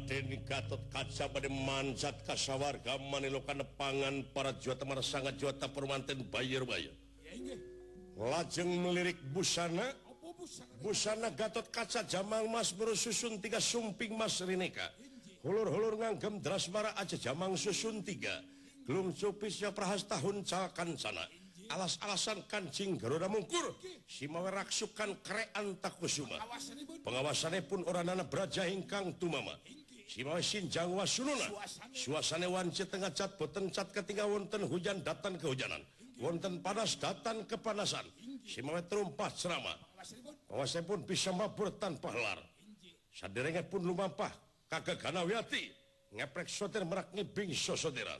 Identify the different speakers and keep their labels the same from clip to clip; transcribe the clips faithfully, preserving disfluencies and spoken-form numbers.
Speaker 1: Raden Gatot Kaca bade manjat ka sawarga manilokan pangan para juwata marsanga juwata permanten bayar-bayar. Lajeng melirik busana busana Gatot Kaca jamang mas berususun tiga sumping mas rineka. Hulur-hulur nganggem drasmara aja jamang susun tiga. Gelung cupisnya prahasta huncakan sana. Alas-alasan kancing Garuda Mungkur simawe raksukan krean takusuma pengawasannya pun oranana braja hingkang tumama simawe sinjang wasununa suasana wancit tengah cat boten cat ketika wonten hujan datang kehujanan wonten panas datang kepanasan simawe terumpah cerama pengawasannya pun bisa mabur tanpa helar saderengnya pun lumampah kagak ganawiati ngeprek soter merak ngibing sosoderan.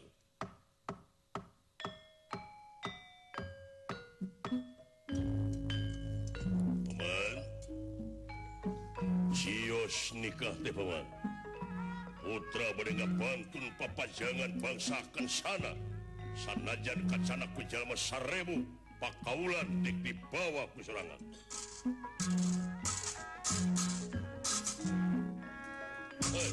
Speaker 1: Cios nikah teh paman. Putra bade ngabantun papajangan bangsakeun sana. Sanajan kacana ku jalma sarebu pakaulan dik dibawa ku sorangan. Hey.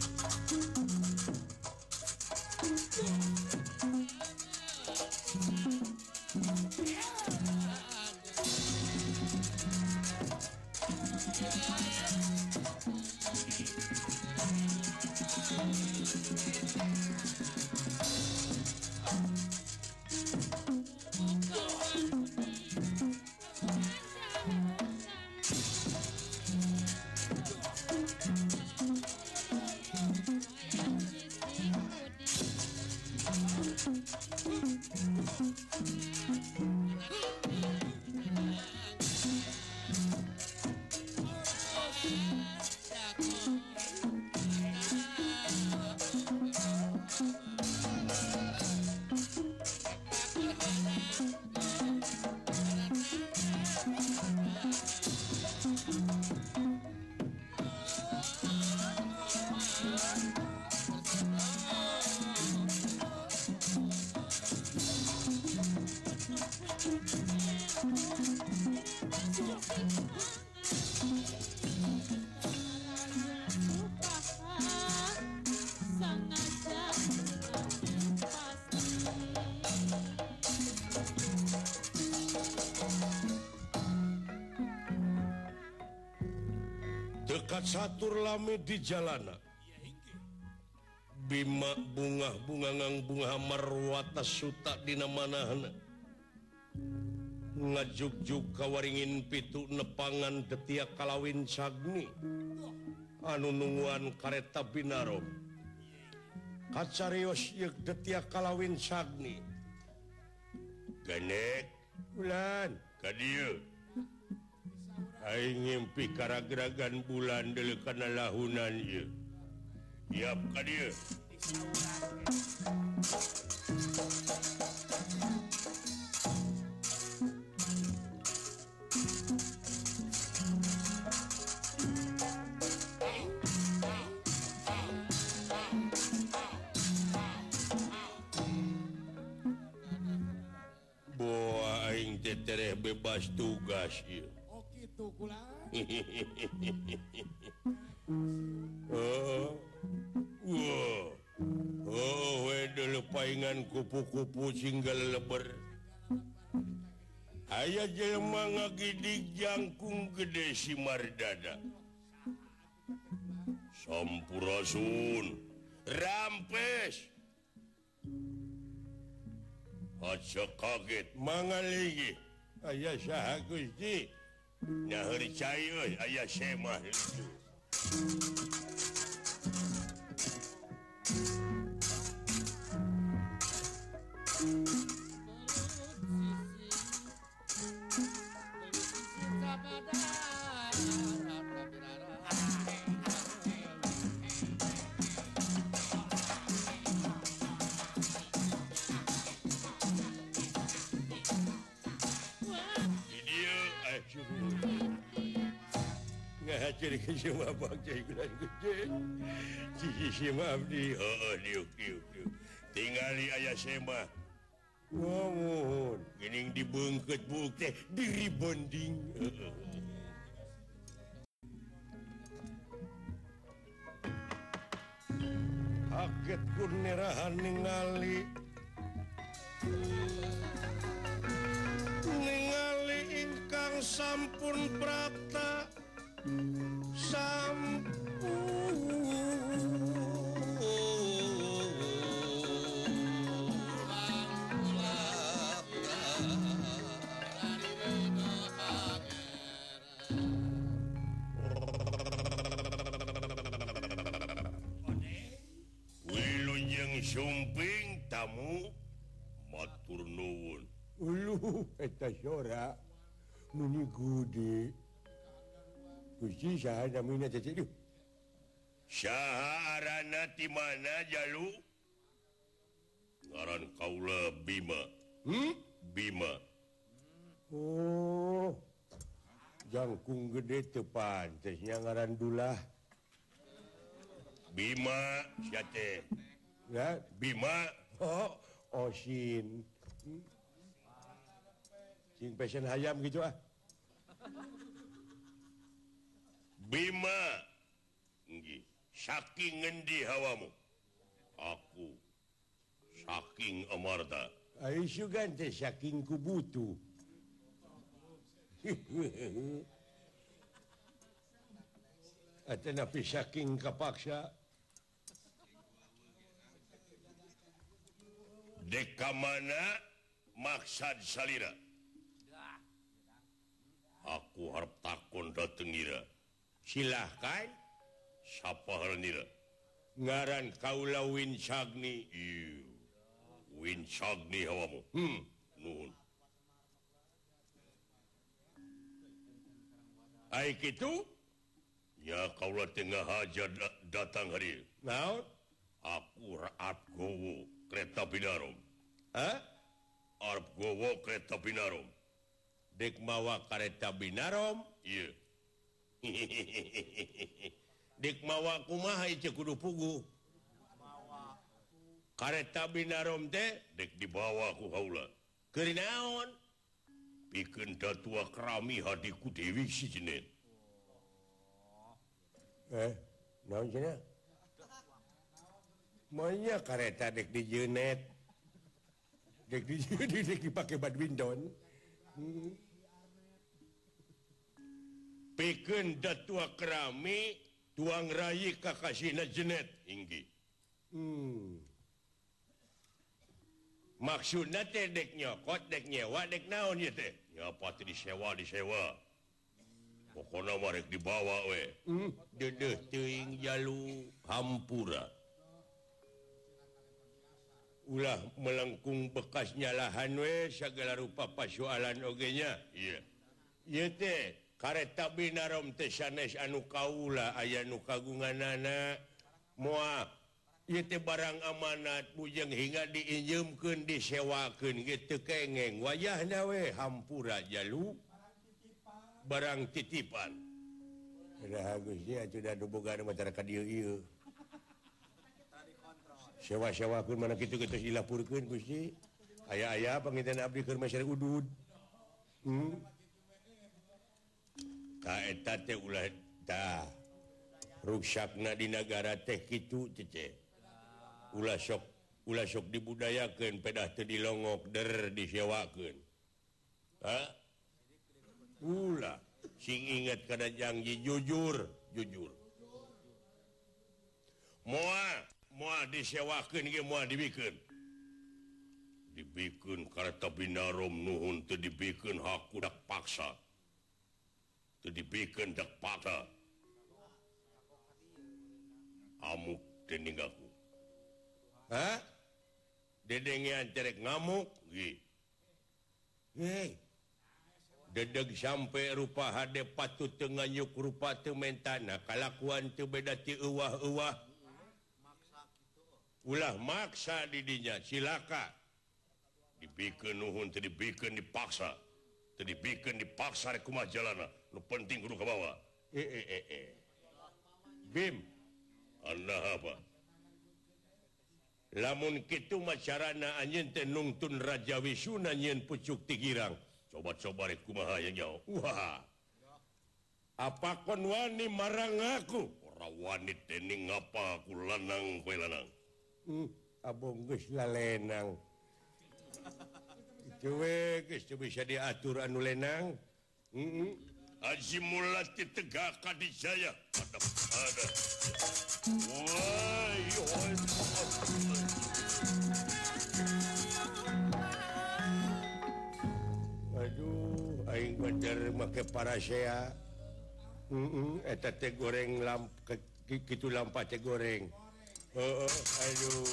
Speaker 1: Dekat satur lami di jalana Bima bunga bunga ngang bunga marwata suta dina manahna ngajuk-juk kawaringin pitu nepangan detia kalawin sagni anu nungguan kareta binarom kacarios yeuk detia kalawin sagni ganek bulan ka dieu aing ngimpi karagragan bulan deuleu kana lahunan ieu tiap ka dieu boa aing teh tereh bebas tugas ieu.
Speaker 2: Oh kitu kula.
Speaker 1: Oh. Wah. Oh, wedel paingan kupu-kupu singgal leber. Aya jelema ngagidik jangkung gede si Mardada. Sampurasun. Rampes. Aja kaget mangaligi. Aya saha Gusti? Nyaeur cai euy aya semah itu. Jadi semua bangsa ikutan gede. Cici semua abdi. Oh, diuk, diuk, diuk. Tinggali ayah semua. Ngomong. Gening dibengket buk teh. Diri bonding. kaget kunirahan ningali ningali ingkang sampun prapta sampun Sumping tamu matur nuwun.
Speaker 2: Uluh eta sora nuni gede. Gusti saha namina cecedu?
Speaker 1: Saha arana ti mana Jalu? Ngaran kaula Bima.
Speaker 2: Hmm?
Speaker 1: Bima.
Speaker 2: Oh. Jangkung gede teu pantes nya ngaran dulah.
Speaker 1: Bima sia teh.
Speaker 2: Ya,
Speaker 1: Bima.
Speaker 2: oh, Osin. Hmm? Sing pesen hayam gitu ah.
Speaker 1: Bima. Nggih, saking ngendi hawamu? Aku saking Amarta.
Speaker 2: Ai sugan teh saking kubutu. Atena pi saking kapaksa.
Speaker 1: Deka mana maksad salira? Aku harap takon dateng ira.
Speaker 2: Silahkan.
Speaker 1: Sapa haranira?
Speaker 2: Ngaran kaula Winsagni.
Speaker 1: Iu. Winsagni hawamu.
Speaker 2: Hmm.
Speaker 1: Nuhun.
Speaker 2: Ai kitu?
Speaker 1: Ya kaula tengah haja da- datang hari.
Speaker 2: Naon?
Speaker 1: Aku raat gowo kereta binarom.
Speaker 2: Hah?
Speaker 1: Arep gowo kereta binarom.
Speaker 2: Dek mawa kareta binarom,
Speaker 1: Iya.
Speaker 2: dek mawa kumaha ieu kudu pugu. Kareta binarom teh
Speaker 1: Dek dibawa ku haula.
Speaker 2: keur naon?
Speaker 1: Pikeun datua kerami hadiku Dewi Sijenet.
Speaker 2: Eh, naon cenah? Monya kareta dek di jenet. Dek di jenet dek dipake badminton. Hmm.
Speaker 1: Pikeun datua kerami tuang rayi kakasina Jenet inggi.
Speaker 2: Hmm.
Speaker 1: Maksudna teh dek nyokot, dek nyewa, dek naon ieu teh? Nyapa teh disewa, disewa. Pokona mah rek dibawa we.
Speaker 2: Hmm.
Speaker 1: Dedeh teuing Jalu hampura.
Speaker 2: Ulah melengkung bekasnya lahan we segala rupa pasoalan oge nya.
Speaker 1: Iya.
Speaker 2: Ieu teh kareta binarom teh sanes anu kaula aya nu kagunganana moal ieu teh barang amanat bujang hingga diinjemkeun disewakeun gitu kengeng wayahna we hampura Jalu barang titipan. Dah Gusti atuh da boga masyarakat ieu ieu. Sewa-sewakeun mana kitu geus dilapurkeun Gusti. Aya-aya panginten abdi keur masyarakat udud. Hmm. Ta eta teh ulah tah ruksakna di negara teh kitu cece. Ulah sok ulah sok dibudayakeun pedah teu dilongok der disewakeun. Ha? Ulah sing inget kana janji jujur, jujur. Moal moal disewakeun ge moal dibikeun. Dibikeun kareta binarom nuhun teu dibikeun haku dak paksa. Teu dibikeun dak paksa. Amuk teu ninggaku. Hah? Dedengean cerek ngamuk? Gi. Hei. Dedeg sampai rupa hade patut teu nganyuk rupa teu mentana. Kalakuan teu beda ti euwah-euwah. Ulah maksa di dinya, silaka. Dibikeun nuhun teu dibikeun dipaksa. Teu dibikeun dipaksa rek kumaha jalana. Nu penting kudu ka bawah. Eh eh eh eh. Bim. Anda apa? Lamun kitu macarana anjeun teh nungtun Raja Wisuna nyieun pucuk ti girang. Coba-coba rek kumaha ya nyaho. Wah. Apa kon wani marang aku? Ora wani teh ning ngapa aku lanang poe lanang. hmm, abong geus lalenang cuwe geus bisa diatur anu lenang heeh
Speaker 1: Haji Mulati Tegak Kadijaya ada ada wah yo
Speaker 2: aduh aing bener make parasea heeh eta teh goreng lamp kitu lampa teh goreng heeh aduh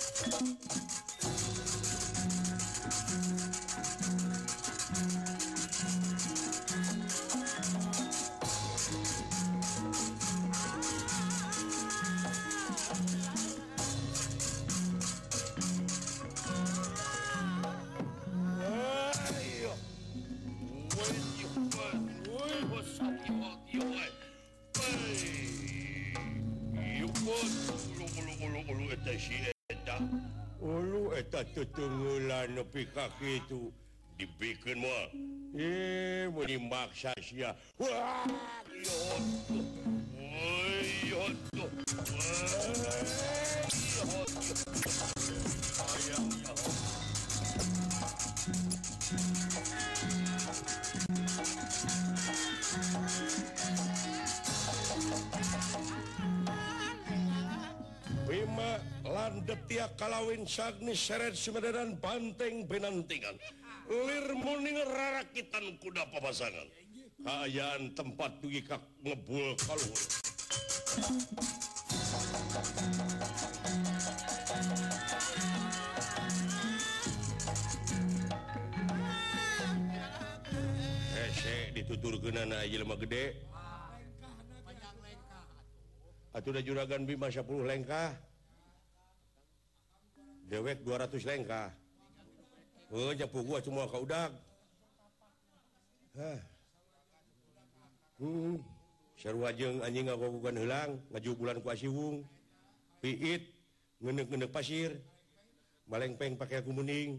Speaker 2: ulu eta tutunggulan nepi ka kitu
Speaker 1: dibikin moal
Speaker 2: eh mun dimaksa sia wah
Speaker 1: yo woi yo tuh ayam ya
Speaker 2: Bima landet tiak kalawin sagni seret sumedaran banteng penantingan
Speaker 1: lir muning rarakitan kuda papasangan
Speaker 2: kaayaan tempat dugi kak ngebul kaluhur hese dituturkeun na ieu mah gede atuh da juragan Bima sepuluh lengkah dewek dua ratus lengkah heuh japu gua cuma ka udag hah hmm sarua jeung anjing ngagogogan heulang ngajubulan ku asiwung piit ngeundeuk-ngeundeuk pasir malengpeng pake aku mending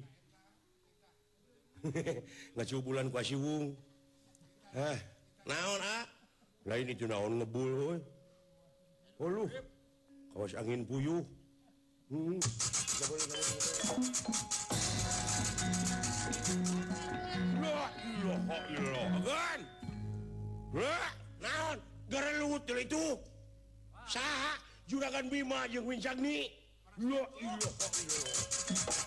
Speaker 2: ngajubulan ku asiwung hah
Speaker 1: naon ah
Speaker 2: lain itu naon ngebul euy uluh kawas angin puyuh hmm
Speaker 1: la ilaha illallah kan lah naon garelut itu saha juragan Bima jeung Wincagni la ilaha illallah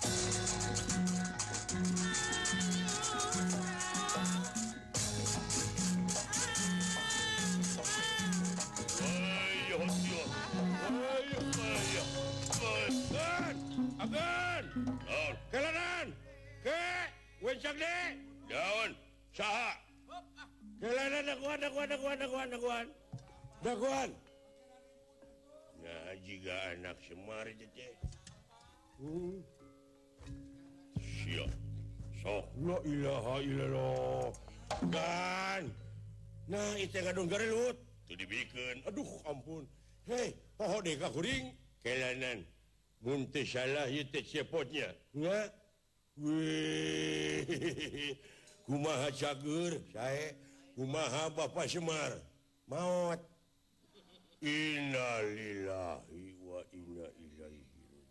Speaker 2: agan kelanan ke Wincagni
Speaker 1: daun saha
Speaker 2: kelanan daguan daguan daguan daguan daguan daguan
Speaker 1: nah jika anak Semar teh
Speaker 2: hmm
Speaker 1: sia sok
Speaker 2: la ilaha illallah kan nah itu ngadung garelut
Speaker 1: tu dibikeun
Speaker 2: aduh ampun hei poho deh ka kuring
Speaker 1: kelanan
Speaker 2: mun teu salah ieu teh cepotnya nya weh kumaha cager sae kumaha Bapak Semar maot
Speaker 1: innalillahi wa inna ilaihi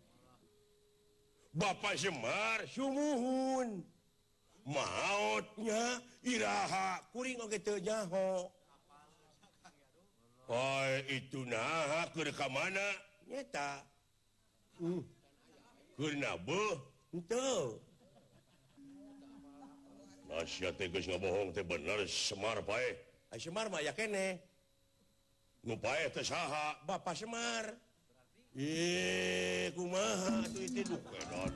Speaker 2: Bapak Semar sumuhun maotnya iraha kuring oge teu nyaho
Speaker 1: oh itu nah keur ka mana
Speaker 2: nyata hmm
Speaker 1: keur nabeuh
Speaker 2: henteu
Speaker 1: nasihat teh geus ngabohong teh bener Semar pae
Speaker 2: ai Semar mah aya keneh
Speaker 1: nu pae teh saha
Speaker 2: Bapak Semar eh kumaha atuh itu duh
Speaker 1: edan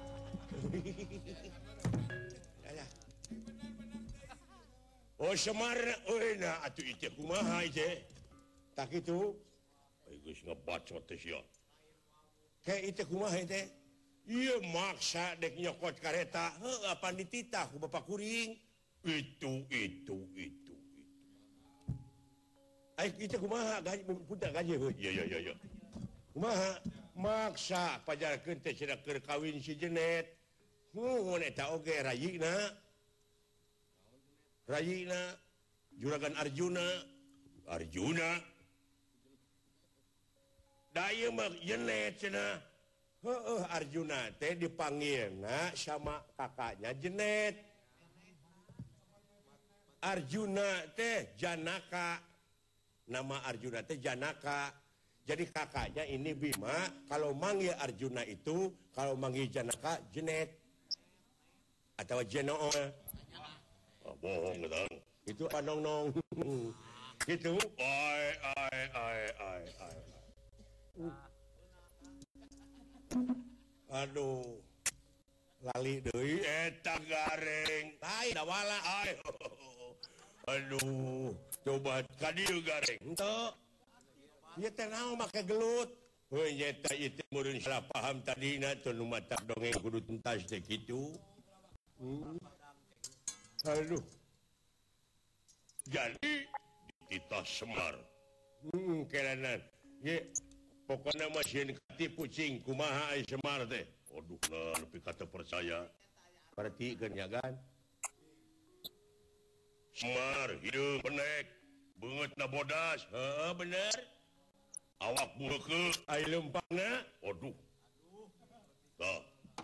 Speaker 2: alah oh Semar euy na atuh itu kumaha itu tak kitu
Speaker 1: ai geus ngabacot teh sia
Speaker 2: kayak itu kumaha teh ieu maksa dek nyokot kareta heuh apa dititah ku Bapak kuring
Speaker 1: itu itu itu itu
Speaker 2: ai itu kumaha gaji punta gaji heuh
Speaker 1: ya ya ya ya
Speaker 2: kumaha maksa pajarkeun teh cenah keur kawin si Jenet nuhun eta oge rayina rayina juragan Arjuna
Speaker 1: Arjuna
Speaker 2: Arjuna teh dipanggil sama kakaknya Jenet Arjuna teh Janaka nama Arjuna teh Janaka jadi kakaknya ini Bima kalau manggil Arjuna itu kalau manggil Janaka Jenet atau Jeno
Speaker 1: bohong
Speaker 2: itu panong-nong gitu
Speaker 1: ai ai ai ai ai
Speaker 2: aduh lali deui
Speaker 1: eta gareng
Speaker 2: lain da wala
Speaker 1: aduh coba ka dieu gareng
Speaker 2: henteu ieu teh naon make gelut
Speaker 1: heuh nyata ieu teh meureun salah paham tadina teu nu matak dongeng kudu tuntas teh kitu
Speaker 2: aduh
Speaker 1: jadi kita Semar
Speaker 2: hmm kelanan ye pokoknya masih katipu cing kumaha ai Semar teh
Speaker 1: waduh nah lebih kata percaya
Speaker 2: berarti kan ya kan
Speaker 1: Semar hideung benek beungeutna bodas
Speaker 2: heeh bener
Speaker 1: awak bueukeut
Speaker 2: ai leumpangna
Speaker 1: waduh tah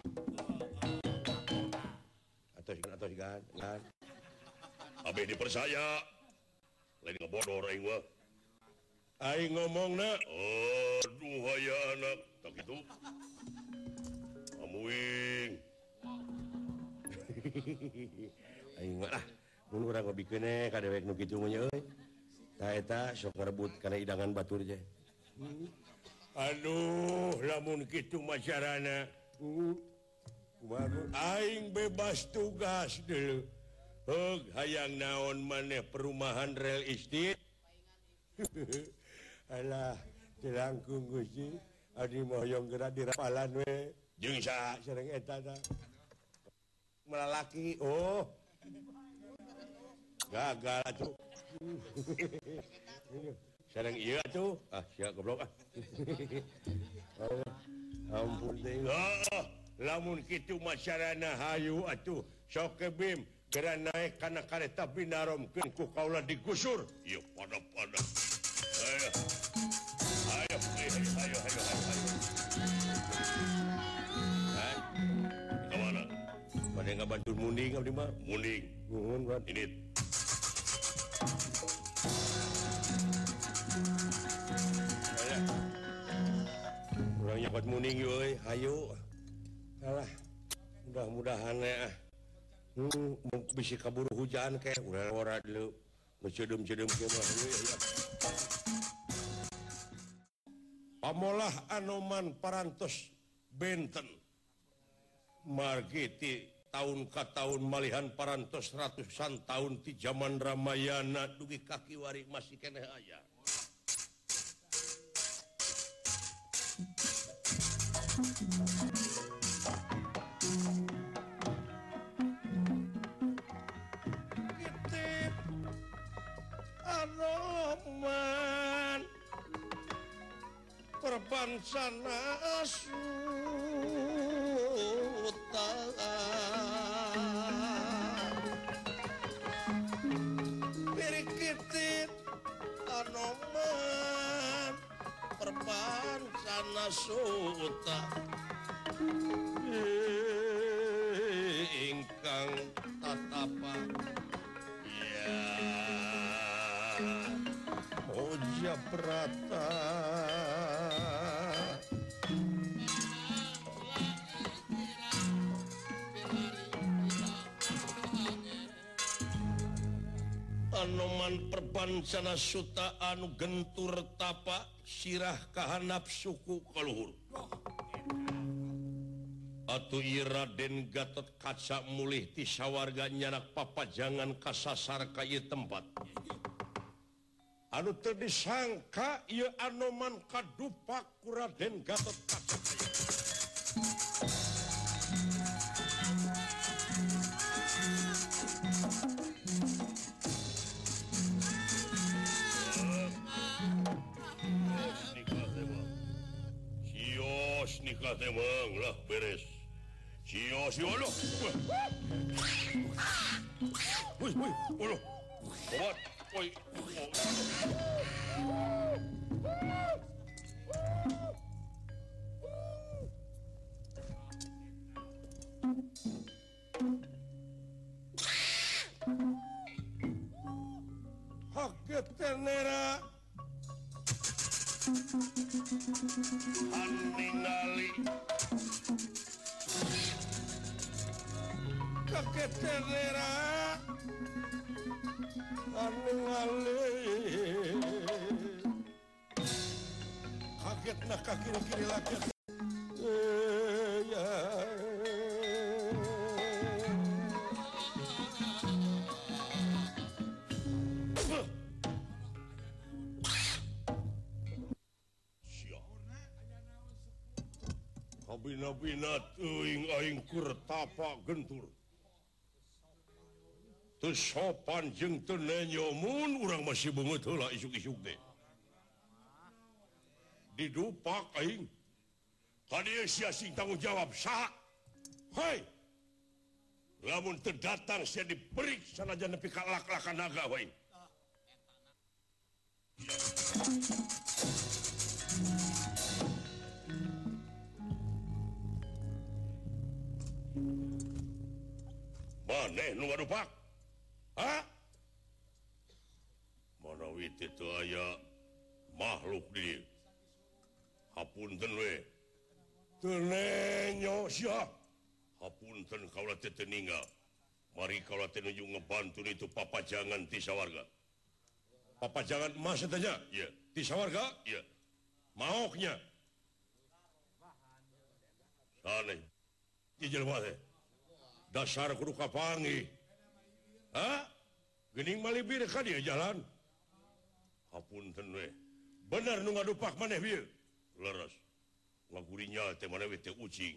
Speaker 2: atos atos kan kan
Speaker 1: abeh dipercaya lain ngebodor aing mah
Speaker 2: ai ngomongna
Speaker 1: aduh aya anak tak gitu amuing
Speaker 2: aing mah ah mun urang ngobikeun ka dewek nu kitu mah euy tah eta sok ngarebut kana idangan batur je
Speaker 1: aduh lamun kitu masyarana
Speaker 2: kumaha
Speaker 1: aing bebas tugas deuleu heug hayang naon maneh perumahan real estate
Speaker 2: alah dilangkung Gusti adi moyong geura dirapalan we
Speaker 1: jeung sa
Speaker 2: sareng eta tah melalaki oh gagal atuh
Speaker 1: sareng ieu atuh
Speaker 2: ah sia goblok ah ampun teh
Speaker 1: ah lamun kitu masyarana hayu atuh sok ke bim geura naik kana kareta binaromkeun ku kaula digusur ieu pada-pada ayo ayo ayo ayo ayo ayo
Speaker 2: kan
Speaker 1: ka mana
Speaker 2: pada ngabantu munding abdi mah
Speaker 1: munding
Speaker 2: nuhun kan
Speaker 1: ini
Speaker 2: urang nyokot munding euy hayu alah mudah-mudahan ya hmm bisi kaburu hujan ke urang ora dulu ngeceudem-ceudem ke mah pamolah Anoman parantos benten margi ti tahun ka tahun malihan parantos ratusan tahun ti zaman Ramayana dugi kaki wari masih keneh aya Kitip Anoman perbansana suta Pirikitip Anoman perbansana suta ingkang tatapa
Speaker 1: ya
Speaker 2: Moja Prata Anoman perbansana suta anu gentur tapa sirah kahanap suku kaluhur atuh ieu Raden Gatot Kaca mulih ti sawarga nyanak papajangan kasasar ka ieu tempat anu teu disangka ieu Anoman kadupak ku Raden Gatot Kaca
Speaker 1: Sios nikah teh mang lah beres. Sios yo lo. Woi woi olo. Obat. Woi. tenera ningali kakek tenera ningali kaget nak kaki kiri lagi eh, ya. Kabina-bina teuing aing keur tapa gentur. Teu sopan jeung teu nenyomun urang masih beungeut heula isuk-isuk teh. Didupak aing. Ka dieu sia sing tanggung jawab saha? Hei. Lamun teu datang sia diperik sanajan nepi ka lak-lakan naga wae. Maneh nu ngadupak? Hah? Mana wit itu aya makhluk di dieu. Hapunten we. Teu nenyo sia. Hapunten kaula teh teu ninggal. Mari kaula teh nuju ngebantu itu papajangan ti sawarga. Papajangan emas tanya? Iya. Ti sawarga? Iya. Maoknya. Saneh. Ti jelema teh. Dasar kudu kapangi. Hah? Geuning malibir ka dia jalan. Hapunten we. Bener nu ngadupak maneh bieu. Leres. Ngagurinya teh maneh we teh ucing.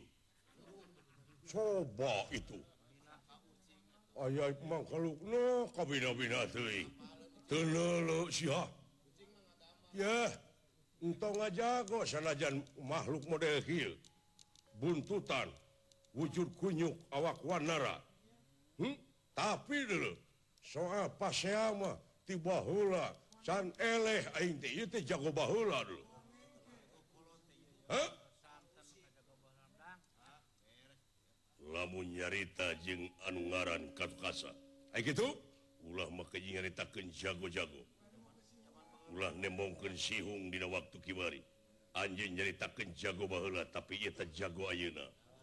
Speaker 1: Coba itu. Aya mangkalukna kabina-bina teuing. Teu leuleuh sia. Ya, entong ngajago sanajan makhluk model kieu. Buntutan, wujud kunyuk, awak wanara. Hmm? Tapi dulu soal pasea mah ti baheula can eleh aing teh ieu teh jago baheula dulu. Hah? Lamun nyarita jeung anu ngaran Katukasa. Ai kitu? Ulah mah keuing nyaritakeun jago-jago. Ulah nemongkeun sihung dina waktu kiwari. Anjeun nyaritakeun jago baheula tapi ieu teh jago ayeuna.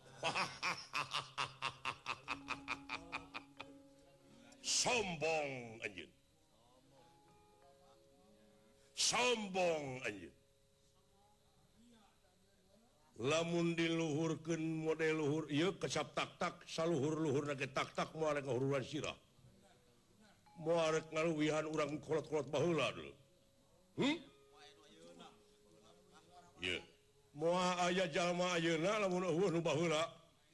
Speaker 1: Sombong anjeun. Sombong anjeun. Lamun diluhurkeun model luhur ieu kecap tak-tak saluhur-luhurna ge tak-tak moal ngahururan sirah. Moal ngaluwihan urang kolot-kolot baheula dulu. Hmm? Ieu. Moal aya jalma ayeuna lamun eueuh nu baheula.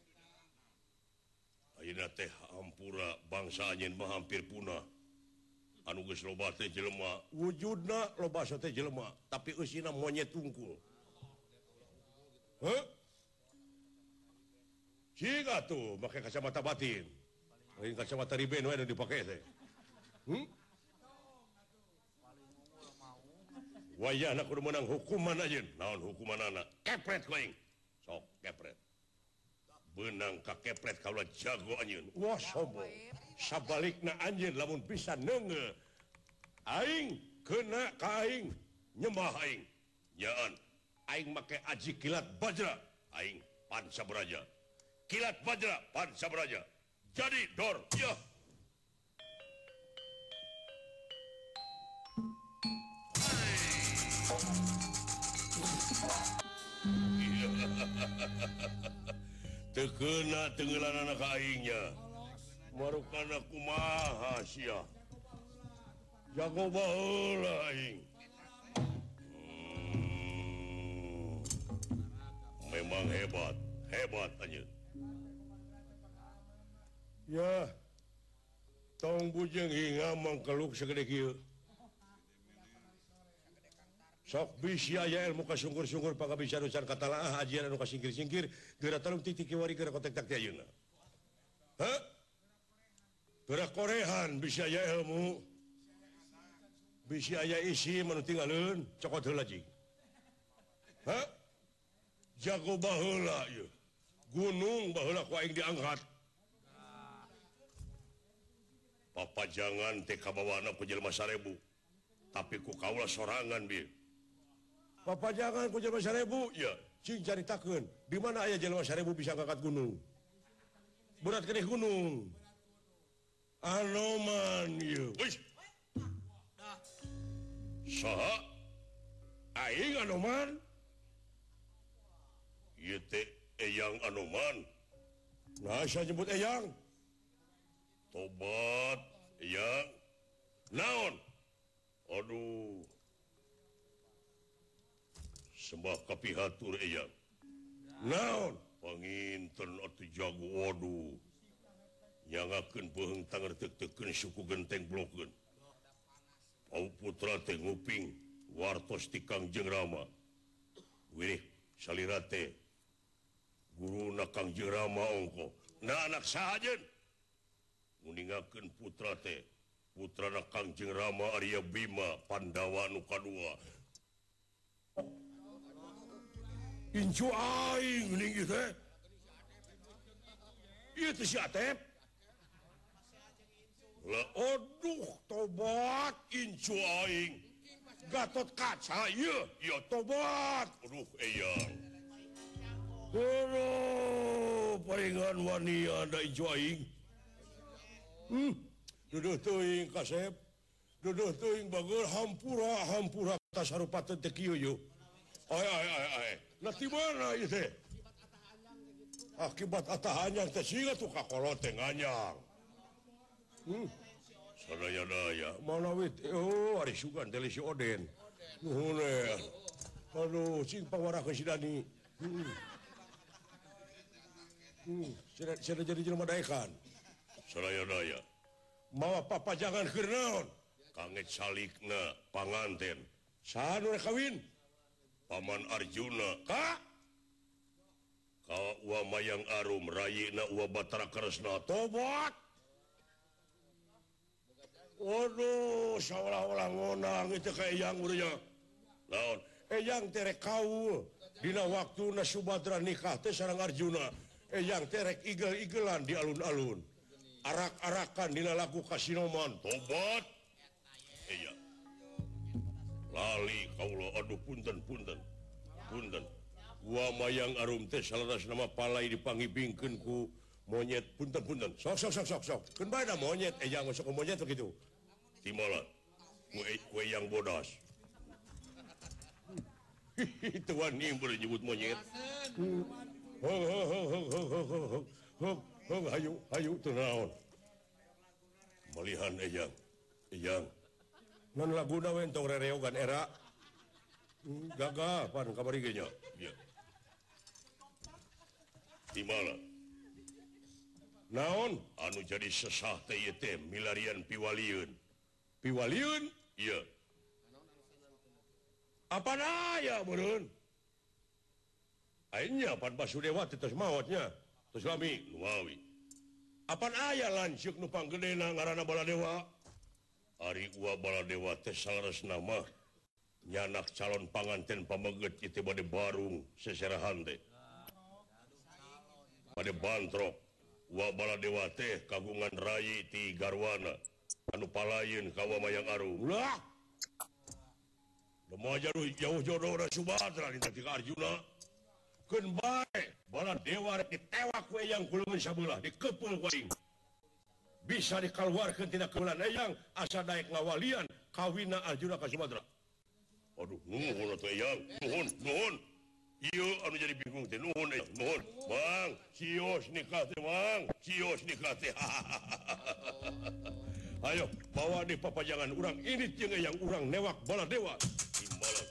Speaker 1: Ayeuna teh hampura bangsa anjeun mah hampir punah. Anu geus loba teh jelema, wujudna loba teh jelema, tapi eusina monyet tungkul. Hah? Ciga tuh make kacamata batin. Lain kacamata riben we anu dipake teh. Hmm? Wayahna kudu meunang hukuman ajeun. Naon hukumanana? Kepret ku aing. Sok kepret. Benang ka kepret kaula jago anjeun. Wah sombong. Sabalikna anjeun lamun bisa neungeul aing keuna ka aing nyembah aing. Nyaan aing make aji kilat bajra aing Pancabaraja. Kilat bajra Pancabaraja. Jadi dor ya. Tekeuna tenggelanana ka aingnya. Marukana kumaha sia. Jago baheula aing. Hmm. Memang hebat, hebat anjeun. Ya. Tong bujeng hinga mangkeluk sagede kieu. Sok bisi aya ilmu kasungkur-sungkur pangabisa nucan katalaah ajian anu kasingkir-singkir geura talung titik kiwari geura kontek tak ti ayeuna. Hah? Geura korehan bisa aya ilmu. Bisa aya isi manu tinggalkeun cokot heula jing. Hah? Jago baheula ieu. Gunung baheula ku aing diangkat. Papajangan teh kabawana ku jelema sarebu. tapi ku kaula sorangan bi Papa jangan ku jelema seribu ya cing caritakeun di mana aya jelema seribu bisa ngangkat gunung berat keneh gunung Anoman ieu wis saha aing Anoman ieu teh Eyang Anoman nah saya nyebut Eyang tobat Eyang naon aduh sembah kapihatur Eyang naon panginten atuh jago waduh nyangakeun beuheung tanger tek-tekeun suku genteng blokeun Pau putra teh nguping wartos ti Kangjeng Rama wirih salira teh guruna Kangjeng Rama ongko na anak sahajeun nguningakeun putra teh putrana Kangjeng Rama Arya Bima Pandawa nu kadua incu aing geuning ieu teh ieu teh si Atep lah aduh tobat incu aing Gatot Kaca ieu ieu tobat aduh Eyang aduh paringan wani ada incu aing hmm duduh teuing Kasep duduh teuing bageul hampura hampura tasarupateun teh kieu yeuh ay ay ay ay nah di mana ieu teh akibat atahanyang teh siga tuh kakolot teh nganyang hmm sadaya daya mana wit oh ari sugan teh si Oden nuhun aduh cing pangwarakeun si Dani hmm hmm sada jadi jelema daekan sadaya daya mawa papa jangan keur naon kanget salikna panganten saha nu rek kawin Paman Arjuna ka ka Uwa Mayang Arum rayina Uwa Batara Kresna tobat waduh saolah-olah ngonang itu ka Eyang urang naon Eyang teh rek kaul dina waktuna Subadra nikah teh sareng Arjuna Eyang teh rek igel-igelan di alun-alun arak-arakan dina lagu Kasinoman tobat Eyang lali kaula aduh punten punten punten Uwa Mayang Arum teh salaras nama palai dipangibingkeun ku monyet punten punten sok sok sok sok sok keun bae da monyet Eyang masuk ke monyet begitu timala ku ku Eyang bodas itu wani boleh nyebut monyet hong hong hong hong hong hong hong hong hayu hayu teu naon malihan Eyang Eyang non laguna we entong rereogan era gagah pan kabari nya ieu timala naon anu jadi sesah teh ieu teh milarian piwalieun piwalieun ieu apa aya meureun ayeuna pan Basudewa teh tos maotnya tos lami nu mawi apan aya lanceuk nu panggedena ngaranna Baladewa Ari Uwa Baladewa teh salaras nama nyanak calon panganten pameget itu bade barung seserahan teh bade bantrok Uwa Baladewa teh kagungan rayi ti garwana anu palayeun ka Uwa Mayang Arum lah moal jauh jauh jodoh da Subadra dina ti Arjuna keun bae Baladewa rek ditewak we Eyang kulumun sabelah dikeupul ku aing bisa dikeluarkan tidak kebulan Eyang asa daek ngawalian kawina Arjuna ka Subadra aduh nuhun atuh Eyang nuhun nuhun ieu anu jadi bingung teh nuhun Eyang nuhun Bang cios nikah teh Bang cios nikah teh ayo bawa di papajangan urang ini jeung Eyang urang newak Baladewa timbalan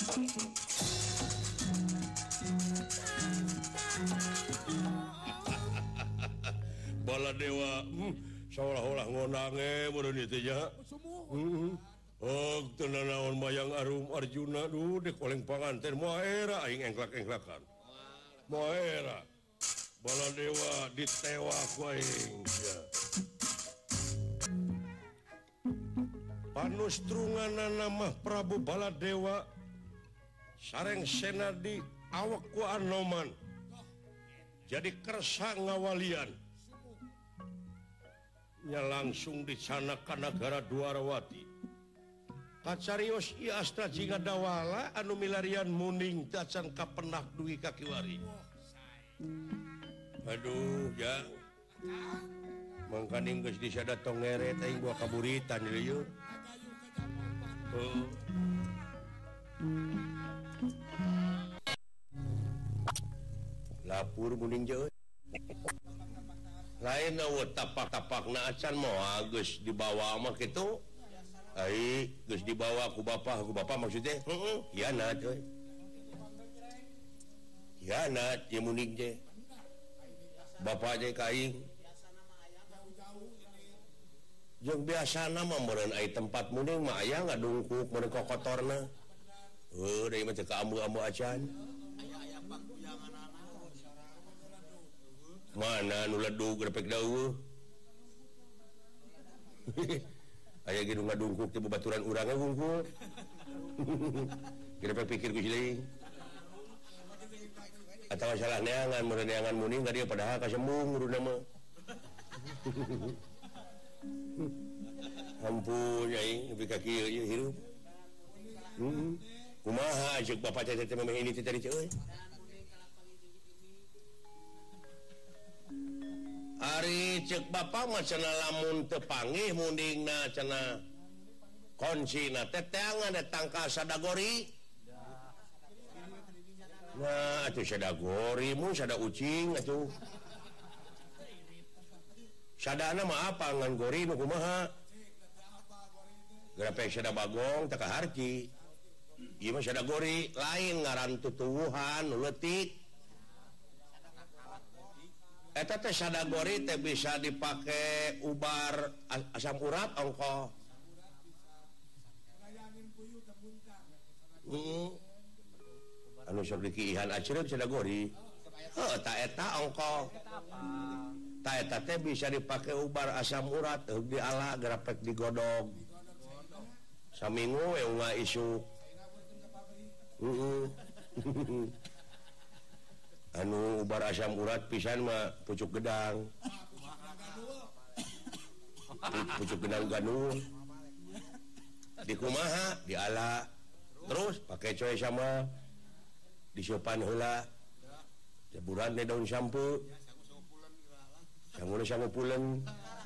Speaker 1: Baladewa hmm. seolah-olah ngonange meureun ieu teh nya. Heeh. Oh, teu naon Mayang Arum Arjuna duh dek oleng panganten moal era aing engklak-engklakan. Moal era. Baladewa ditewak ku aing. Ya. Panustrunganna mah Prabu Baladewa sareng senadi awak ku Anoman. Jadi kersa ngawalian. Nya langsung di sana ka nagara Dwarawati Kacarios ieu astra jinga dawala anu milarian muning tacan kapenak duwi kakiwari. Aduh, ya. Mangkaning geus disada tongeret aing gua kaburitan ieu. Oh. Lapur muning jeuh. Lain eueuh tapak-tapakna acan moal geus dibawa mah kitu. Ai geus dibawa ku bapa, ku bapa maksudnya heeh, hianat euy. Hianat ye muning je. Bapa je ka aing. Jeung biasana mah meureun ai tempat muning mah aya ngadungkuk meureun kokotorna. Heuh, deui mah teu ka ambu-ambu acan. Mana nu ledug grepek daeuh. Aya ge nu ngadungkuk teh babaturan urang we wungkul. Grepek pikir ku cileung. Atawa salah neangan meureun neangan muning ka dieu padahal kasembung uruna mah. Ampun aing nepi ka kieu ieu hirup. Heeh. Kumaha ceuk bapa teh teh memeh ini teh tadi euy. Ari cek bapa mah cenah lamun teu panggih mundingna cenah konsina teh teangan datang ka sadagori. Nah, atuh sadagori mu sada ucing atuh. Sadana mah apa ngan gori nu kumaha? Grapek sada bagong teu kaharti. Ieu mah sadagori lain ngaran tutuwuhan nu leutik. Eta teh sadagori teh bisa dipake ubar asam urat ongko. Hmm. Anu sok dikiihan acreuk sadagori. Heuh ta eta ongko. Ta eta teh bisa dipake ubar asam urat heug diala grapek digodog. Saminggu we unga isuk. Heeh. Anu ubar asam urat pisan mah pucuk gedang. Pucuk gedang ganul. Di kumaha diala terus pakai coy sama disiupan heula. Jeburan teh daun sampu. Sanguna sangu pulen.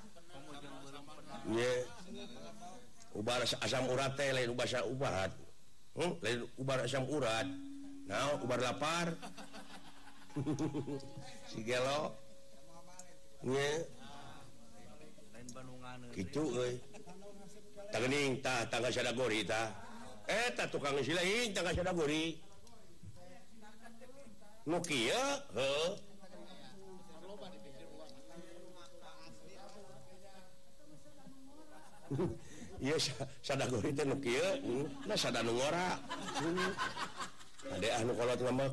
Speaker 1: Ye. Ubar asam urat teh lain ubar asam urat. Hmm, lain ubar asam urat. Nah, ubar lapar. Si gelo nya kitu euy tangeuning tah tangga sadagori tah eta tukang silaing tangga sadagori nu kieu heuh ieu sadagori teh nu kieu na sada nu ngora ade anu kolot ngambek.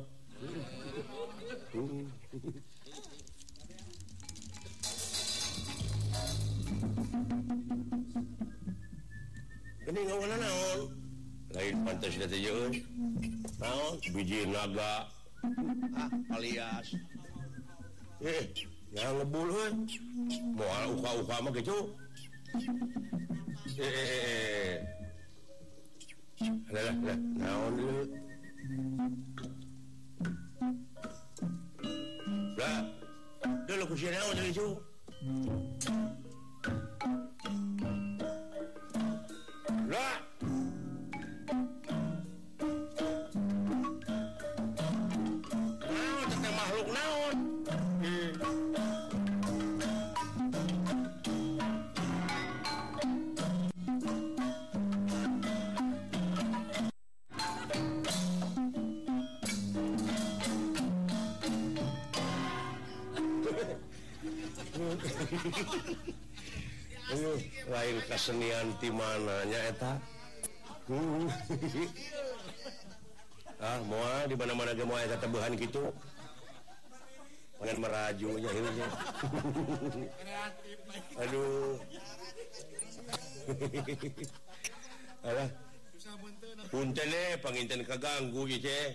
Speaker 1: Ini ngawana naon? Lain pantas da teh euy. Naon? Biji naga. Ah, alias. Eh, yang ngebul euy. Moal uka-uka mah kitu. Eh, eh, eh. Lah, lah, naon dulu? Lah, dulu ku sieun naon jadi cu. Lah. Naon teh makhluk naon? Aduh, lain kesenian ti mananya eta. Ah, moal di mana-mana ge moal eta tebuhan kitu. Pangan meraju nya hieu nya. Aduh. Alah. Punten eh panginten kaganggu ieu teh.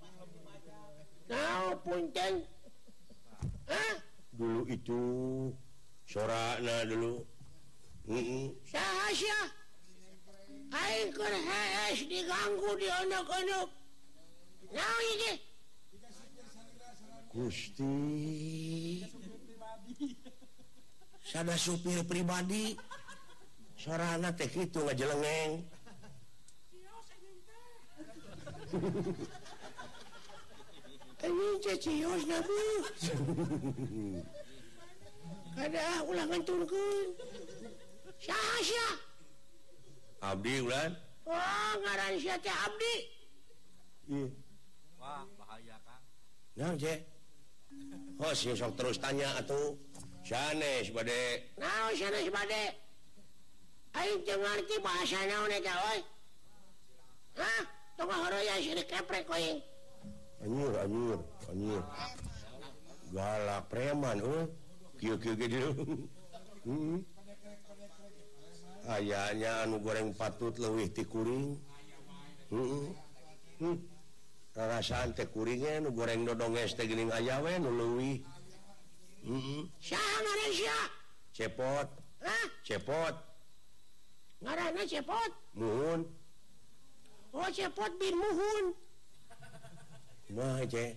Speaker 1: Naon punten? Hah? Dulu itu sorana dulu. Heeh. Saha sia?
Speaker 3: aing keur hees diganggu di ondok-ondok. Naon ieu?
Speaker 1: Gusti. Sada supir pribadi. Sorana teh kitu ngajelengeng.
Speaker 3: Ini cecios na bu. Kada ulah nganturkeun. Saha sia?
Speaker 1: Abdi ulan.
Speaker 3: Oh, ngaran sia teh Abdi.
Speaker 1: Iya.
Speaker 4: Wah, bahaya Kang.
Speaker 1: Nah, je. Oh, sing sok terus tanya atuh. Sanes bade.
Speaker 3: Naon sanes bade? Aing teu ngarti bahasa naon eta oi. Hah? Tong horoya sirik keprek koing.
Speaker 1: Anyur, anyur, anyur. Galak preman, oh. Kieu-kieu ge dieu. Heeh. Ayahnya anu goreng patut leuwih ti kuring. Heeh. Hmm. Rarasaan teh kuringnya nu goreng dodonges teh geuning aya we nu leuwih. Heeh.
Speaker 3: Saha ngaran sia?
Speaker 1: Cepot.
Speaker 3: Hah?
Speaker 1: Cepot.
Speaker 3: Ngaranna Cepot.
Speaker 1: Muhun.
Speaker 3: Oh, Cepot bin Muhun.
Speaker 1: Kumaha ce?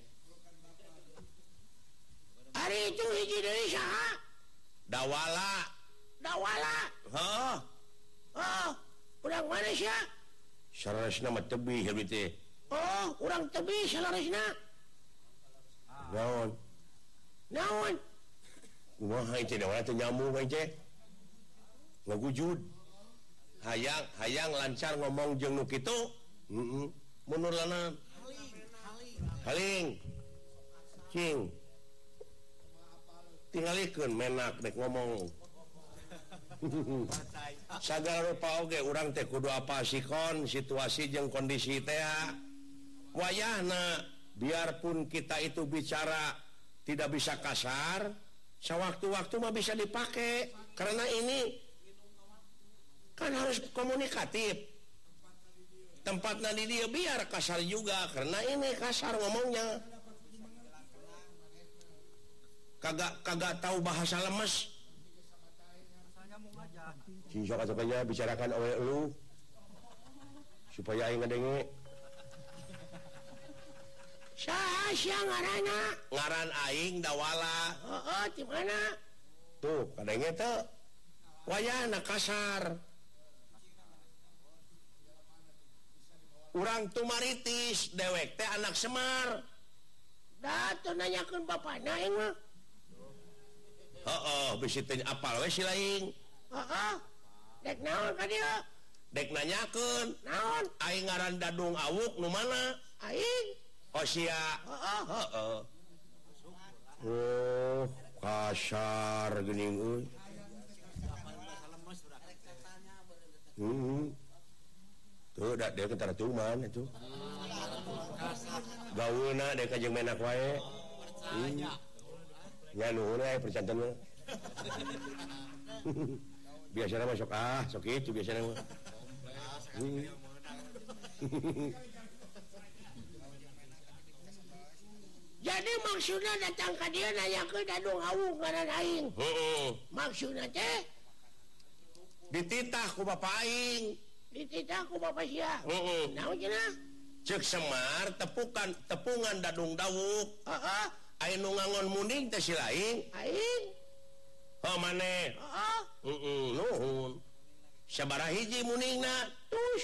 Speaker 3: Ari itu hiji deui saha?
Speaker 1: Dawala.
Speaker 3: Dawala.
Speaker 1: Heuh.
Speaker 3: Oh, urang mana sia?
Speaker 1: Saresna mah tebih abdi teh.
Speaker 3: Oh, urang tebih salaresna.
Speaker 1: Naon?
Speaker 3: Naon?
Speaker 1: Kumaha ieu dawala teh nyambung we ce? Ngagujud. Hayang, hayang lancar ngomong jeung nu kitu. Heeh. Mundur lana. Haling. Cing. Tingalikeun menak dek ngomong. Sagala rupa oge urang teh kudu apal sikon situasi jeung kondisi teh. Wayahna biarpun kita itu bicara tidak bisa kasar, sewaktu-waktu mah bisa dipakai karena ini kan harus komunikatif. Tempatnya di dia biar kasar juga karena ini kasar ngomongnya. Kagak kagak tahu bahasa lemes. Si sok atuh bicarakan oleh lu supaya aing ngadenge.
Speaker 3: Saha sia ngaranna?
Speaker 1: Ngaran aing Dawala.
Speaker 3: Heeh, di mana?
Speaker 1: Tuh, kadenge teu. Wayahna kasar. Urang tumaritis dewek teh anak Semar.
Speaker 3: Da tuh nanyakeun bapana aing mah.
Speaker 1: Heeh, bisi teh apal we si laing.
Speaker 3: Heeh. Dek naon ka dieu?
Speaker 1: Dek nanyakeun.
Speaker 3: Naon?
Speaker 1: Aing ngaran Dadung Awuk nu mana?
Speaker 3: Aing.
Speaker 1: Oh sia.
Speaker 3: Heeh.
Speaker 1: Heeh. Oh, kasar geuning euy. Hmm. Tuh, dak dia kentara tuman itu. Gaweuna dek ka jeung menak wae. Percaya. Ya nuhun we percanten mah. Biasana mah sok ah, sok kitu biasana mah. Hmm.
Speaker 3: Jadi maksudnya datang ka dieu nanyakeun Dadung Awuk ngaran aing.
Speaker 1: Heeh.
Speaker 3: Maksudna teh
Speaker 1: Dititah ku bapak aing.
Speaker 3: dititah ku bapak sia.
Speaker 1: Heeh.
Speaker 3: Naon cenah?
Speaker 1: Ceuk Semar tepukan tepungan Dadung Dawuk.
Speaker 3: Heeh.
Speaker 1: Aya nu ngangon munding teh si laing.
Speaker 3: Aing.
Speaker 1: Heuh maneh.
Speaker 3: Heeh.
Speaker 1: Heeh, nuhun. Sabaraha hiji muningna?
Speaker 3: Tus.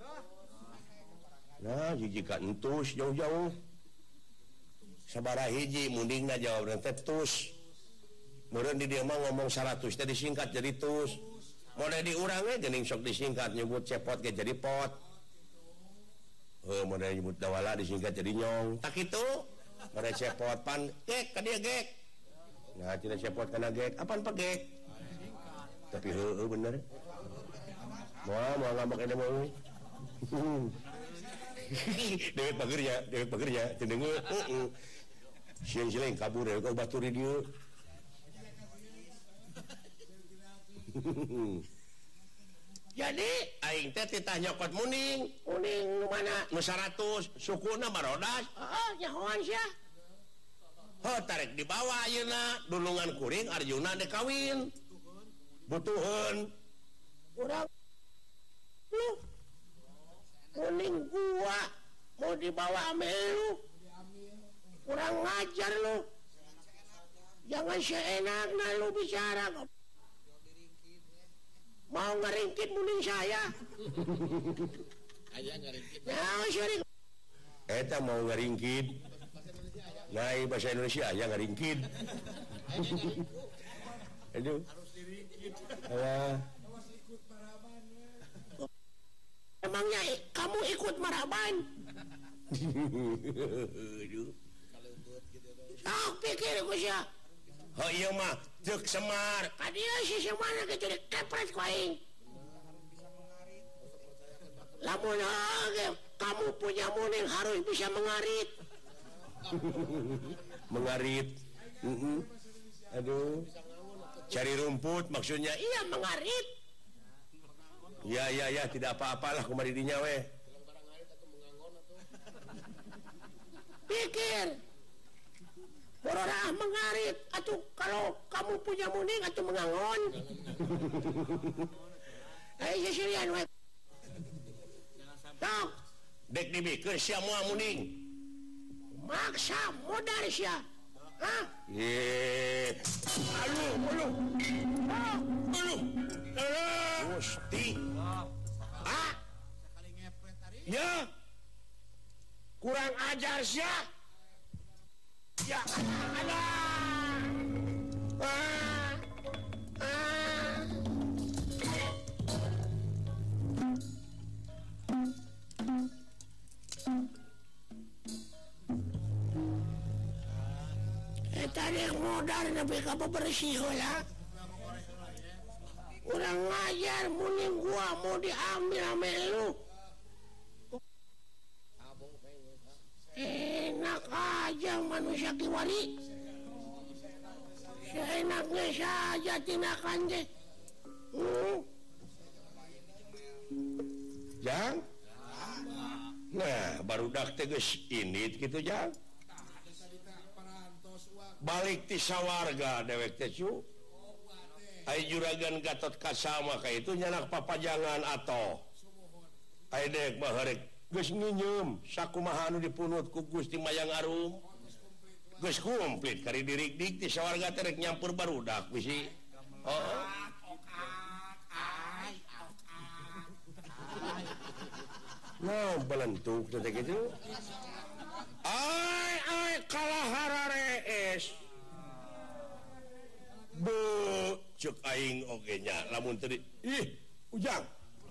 Speaker 1: Nah, hiji ka entus jauh-jauh. Sabaraha hiji mundingna jawabna teh tus. Meureun di dieu mah ngomong seratus teh disingkat jadi tus. Model diurang we geuning sok disingkat nyebut cepot ge jadi pot. Heuh model nyebut Dawala disingkat jadi nyong. Tak kitu. Model cepot pan gek ka dieu gek. Nah, cenah cepot kana gek. Apaan pa gek? Tapi heueuh bener. Moal moal ngambek eta mah euy. Dewek pagernya, dewek pagernya, cendeung heeh. Sieun-sieun kabur we ka batur di dieu.
Speaker 3: Jadi
Speaker 1: Aing teh titah nyokot muning.
Speaker 3: kuning nu mana?
Speaker 1: Nu seratus sukuna barodas.
Speaker 3: Heeh, nyahoan sia.
Speaker 1: Heuh tarik di bawah ayeuna dulungan kuring Arjuna dek kawin. Butuheun.
Speaker 3: Urang lu kuning gua mau dibawa ame lu kurang ngajar lu jangan seenaknya lu bicara mau ngeringkit muning saya nah sorry
Speaker 1: eta mau ngeringkit nah bahasa Indonesia ya ngeringkit aduh ya
Speaker 3: emangnya kamu ikut maraban ah pikir gue sih
Speaker 1: oh iya mah cek Semar
Speaker 3: kadia si Semar gitu di kepret kuaing lamun ah, kamu punya muning harus bisa mengarit
Speaker 1: mengarit uh -uh. aduh cari rumput maksudnya
Speaker 3: iya mengarit
Speaker 1: ya ya ya tidak apa-apalah kumari dinya weh
Speaker 3: pikir bororah mengarit atau kalau kamu punya muning atau mengangon eh sesirian weh tok
Speaker 1: dek dibikeun sia moal muning
Speaker 3: maksa modal sia hah
Speaker 1: ye aduh aduh aduh aduh Gusti
Speaker 3: ah
Speaker 1: ya
Speaker 3: kurang ajar sia ya ada ah ah tadi modal tapi apa bersih lah kurang ngajar muning gua mau diambil sama lu enak aja manusia kiwari seenaknya saja tindakan deh hmm.
Speaker 1: Jang nah baru dak teges ini gitu Jang balik ti sawarga dewek teh cu ai juragan Gatot Kasama ka itu nyanak papajangan atau ai dek baharek geus nginyeum sakumaha anu dipunut ku Gusti Mayang Arum geus komplit kari dirik-dik ti sawarga teh rek nyampur barudak bisi oh nah belentuk teh kitu ai ai kalahara rees be cek aing oge nya lamun tadi ih ujang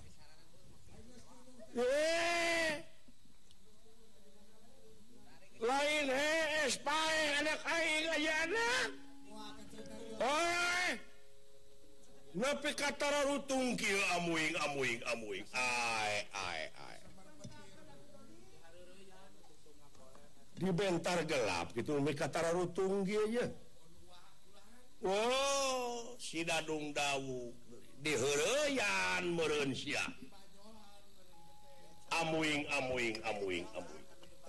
Speaker 1: eh lain hees pae anak aing ayana oi nepi ka tararutung kieu amuing amuing amuing ai ai ai di bentar gelap gitu mereka tararutung gitu aja. Wow, si Dadung Dawu diheureyan meureun sia. Amuing amuing amuing amuing.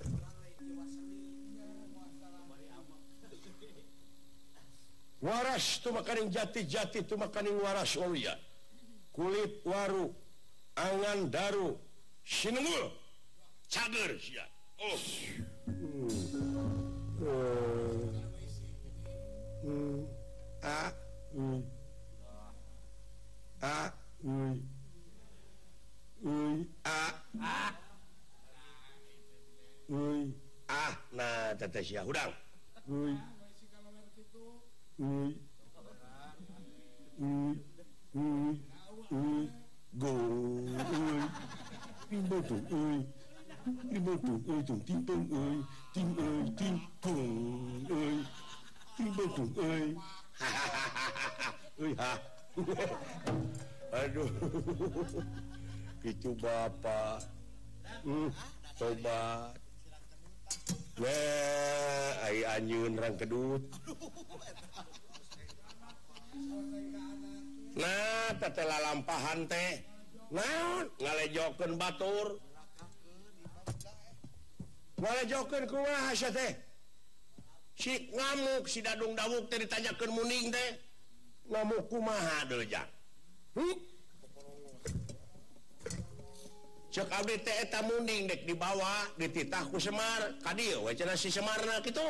Speaker 1: Waras tu makaning jati-jati tu makaning waras waluya. Kulit waru, angan daru, sinengul, cager sia. Oh. Hmm. Hmm. Hmm. Ah. Hmm. Ah. Hmm. Hmm. Ah. Ah. Hmm. Ah. Nah, teteh sia hudang. Hmm. Hmm. Hmm. Hmm. Hmm. Gong. Timbul tu. Timbul tu. Oi tu. Timbul oi. Tim oi. Tim gong. Oi. Timbul tu. Oi. Oi ha. Aduh. Itu bapak. Hmm. Tobat. Nah, ai anjeun rang kedut. Nah, teteh lalampahan teh. Naon ngalejokeun batur. Ngalejokeun kumaha sia teh? Si ngamuk si Dadung Dawuk teh ditanyakeun muning teh. Ngamuk kumaha deui jak? Hmm?
Speaker 2: cek abdi teh eta munding dek dibawa dititah ku Semar ka dieu we cenah si Semarna kitu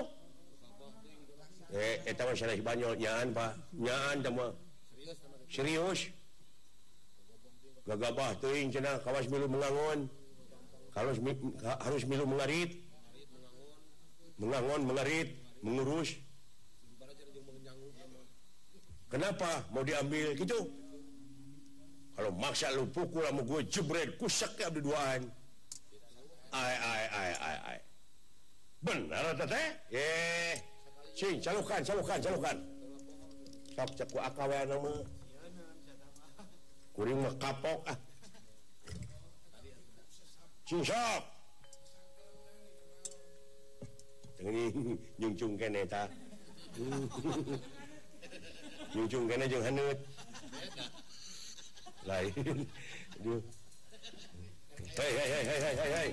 Speaker 2: eh eta mah sanes banyol nyaan Pak nyaan teh mah serius gagabah teuing cenah kawas milu mengangon kalau harus milu mengarit mengangon mengarit mengurus kenapa mau diambil gitu kalau maksa lu pukul sama gue jebret kusak ke abdi duaan ai ai ai ai ai benar teteh eh sing calukan calukan calukan sok cek ku akawe nama kuring mah kapok ah sing sok ini nyungcung kene ta nyungcung kene jeung haneut lain aduh hei hei hei hei hei hei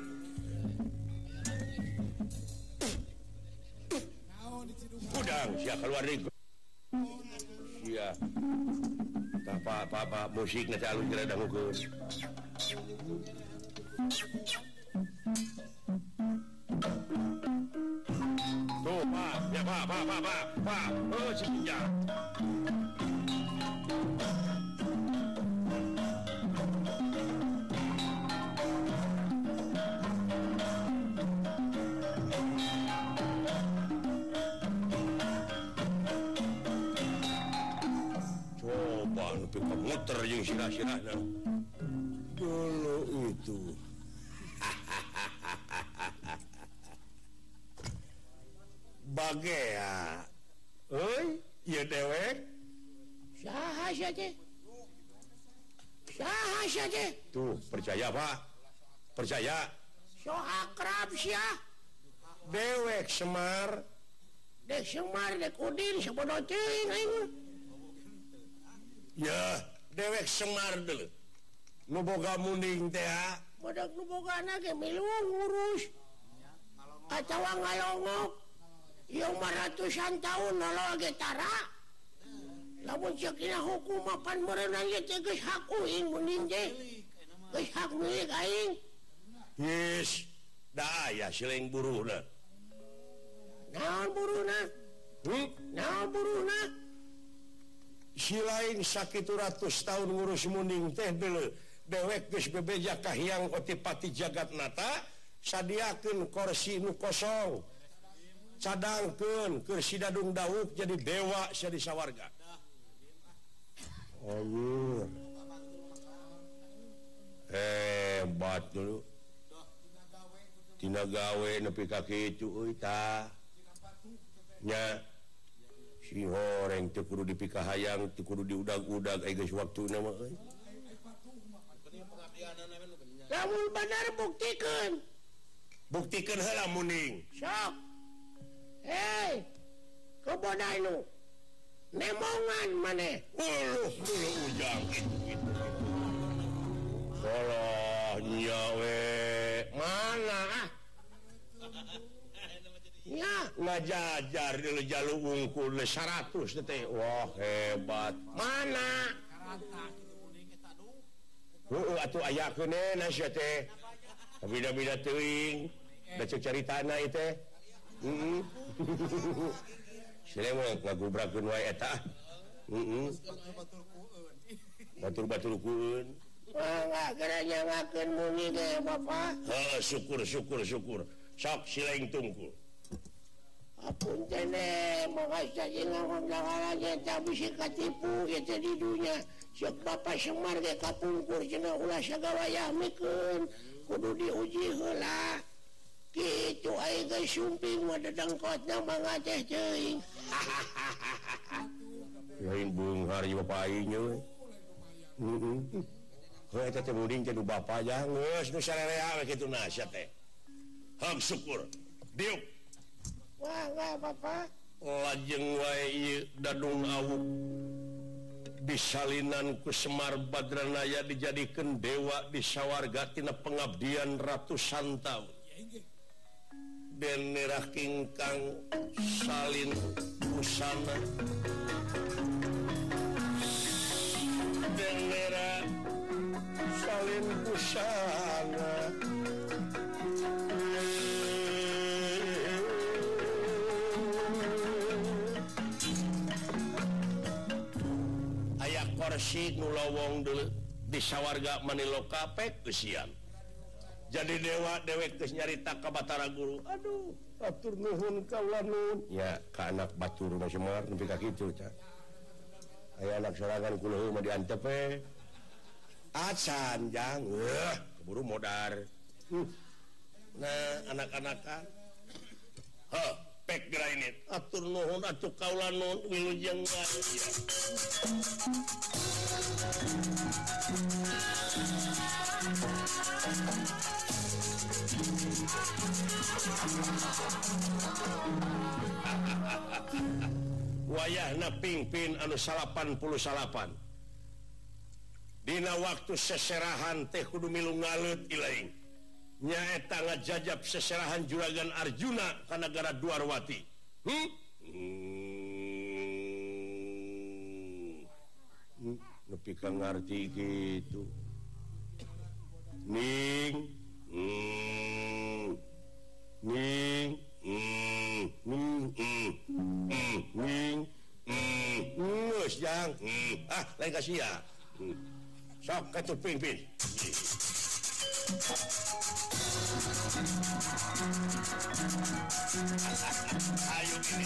Speaker 2: udang sia keluar di sia apa apa apa musik nanti alun kira dangukeun tuh pak ya pak pak pak pak pak oh si pinjang pemuter yang sirah-sirahnya dulu itu bagea oi iya dewek
Speaker 3: saha saja saha saja
Speaker 2: tuh percaya Pak percaya
Speaker 3: so akrab sia
Speaker 2: dewek Semar
Speaker 3: dek Semar dek Udin sabodo teuing aing
Speaker 2: ya dewek Semar dulu nu boga munding teh
Speaker 3: badak nu bogana ge milu ngurus kacawa ngalongok ieu mah ratusan tahun nalo ge tara lamun ceukina hukum mapan meureunang ge teh geus hak uing munding teh geus hak milik aing
Speaker 2: yes da aya siling buruhna
Speaker 3: naon buruhna
Speaker 2: hmm?
Speaker 3: naon buruhna
Speaker 2: si lain sakitu ratus tahun ngurus munding teh dulu dewek geus bebeja kahyang otipati jagat nata sadiakeun kursi nu kosong cadangkeun keur si Dadung Daud jadi dewa sia di sawarga anjir hebat dulu tina gawe nepi ka kitu euy tah nya si horeng teu kudu dipikahayang teu kudu diudag-udag aya geus waktuna mah euy
Speaker 3: lamun bener buktikeun
Speaker 2: buktikeun heula munding
Speaker 3: sok hei kebodai nu nemongan maneh
Speaker 2: uluh dulu ujang gitu gitu salah nya we mana ah
Speaker 3: nya
Speaker 2: ngajajar dulu jalu wungkul seratus teh wah hebat
Speaker 3: mana
Speaker 2: heueuh atuh aya keunena sia teh bida-bida teuing da ceuk caritana ieu teh heeh sile mah ngagubrakeun wae eta heeh batur-baturkeun
Speaker 3: mangga geranya ngakeun muni ge Bapak
Speaker 2: heuh syukur syukur syukur sok silaing tungkul
Speaker 3: apun tene moga saja ngomong langala tak bisa katipu ya di dunia siap Bapak Semar ge kapungkur cenah ulah sagawayah mikeun kudu diuji heula kitu aya geus sumping mah dadangkotna mangga teh teuing
Speaker 2: lain beunghar ieu Bapak aing we heeh heuh eta teh munding teh nu bapa aja geus nu sarerea we kitu na sia teh hang syukur diuk
Speaker 3: wah enggak Bapak
Speaker 2: lajeng wae ieu Dadung Awuk disalinan ku Semar Badranaya dijadikeun dewa di sawarga tina pengabdian ratusan taun den nerah kingkang salin busana den nerah salin
Speaker 1: lain busana aya korsi nu lowong dulu di sawarga Maniloka pek kesian jadi dewa dewek geus nyarita ka Batara Guru aduh atur nuhun kaula nuhun ya ka anak batur mah Semar nepi ka kitu nya aya anak sorangan kula mah diantep we acan jang weuh keburu modar hmm. Nah anak-anakan heuh pek grainit atur nuhun atuh kaula nuhun wilujeng ya. Wayahna pingpin anu salapan puluh salapan dina waktu seserahan teh kudu milu ngaleut ilaing nyaeta ngajajab seserahan juragan Arjuna ka nagara Dwarwati hmm? Hmm. Nepi ka ngarti gitu ning hmm. ning hmm. ning hmm. hmm. ning hmm. ngeus jang hmm. ah lain kasih ya hmm. sok katuh pingpin ayo ini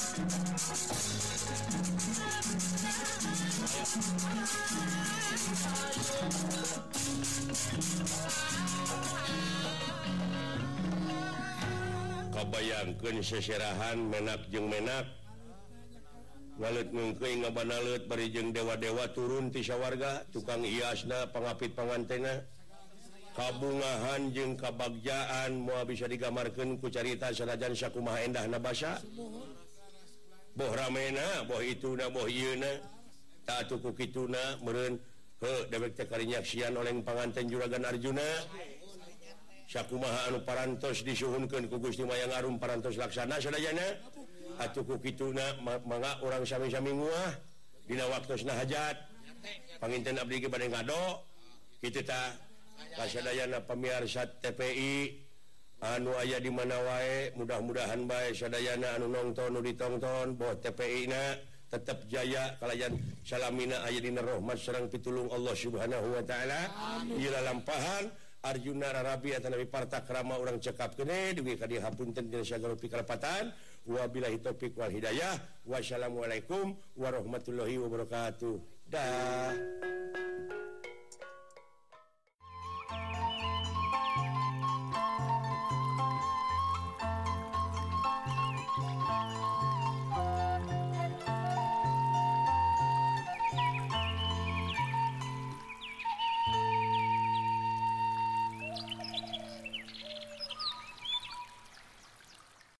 Speaker 1: kabayangkeun seserahan menak jeung menak ngaleut ngengkeuing ngabanalut bari jeung dewa-dewa turun ti sawarga tukang hiasna pangapit pangantena kabungahan jeung kabagjaan moal bisa digamarkeun ku carita sanajan sakumaha endahna basa boh ramena boh ituna boh ieuna ta atuh ku kituna meureun heuh dewek teh karinyaksian oleh panganten juragan Arjuna sakumaha anu parantos disuhunkeun ku Gusti Mayang Arum parantos laksana sadayana atuh ku kituna mangga urang sami-sami nguah dina waktosna hajat panginten abdi ge bade ngado kitu tah kasadayana pamirsa T P I anu aya di mana wae mudah-mudahan bae sadayana anu nongton nu ditonton boh T P I-na tetep jaya kalayan salamina aya dina rahmat sareng pitulung Allah Subhanahu wa taala ieu lampahan Arjuna rarabi atanapi partakrama urang cekap kene dugi ka dieu hapunten dina sagala pikalapatan wabillahi taufik wal hidayah wassalamualaikum warahmatullahi wabarakatuh dah